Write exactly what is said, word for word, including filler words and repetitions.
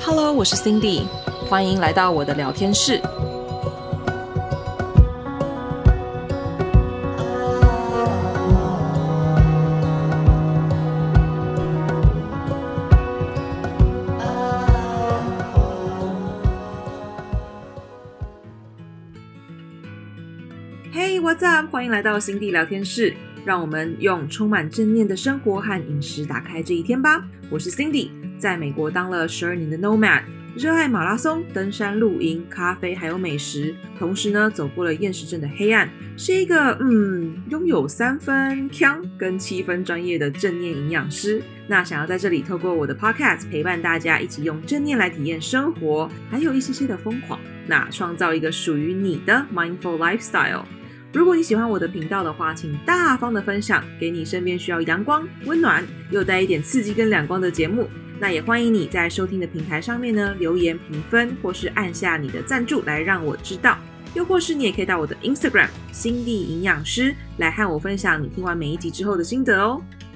Hello， 我是 Cindy， 歡迎來到我的聊天室。Hey, what's up？ 歡迎來到 Cindy 聊天室，讓我們用充滿正念的生活和飲食打開這一天吧。我是 Cindy， 在美國當了十二年的 Nomad， 熱愛馬拉松、登山、露營、咖啡還有美食，同時呢走過了厭食症的黑暗，是一個嗯擁有三分鏘跟七分專業的正念營養師。那想要在這裡透過我的 Podcast 陪伴大家一起用正念來體驗生活，還有一些些的瘋狂，那創造一個屬於你的 Mindful Lifestyle。如果你喜歡我的頻道的話，請大方的分享給你身邊需要陽光、溫暖又帶一點刺激跟亮光的節目。那也歡迎你在收聽的平台上面呢留言評分，或是按下你的贊助來讓我知道。又或是你也可以到我的 Instagram 心地營養師來和我分享你聽完每一集之後的心得哦。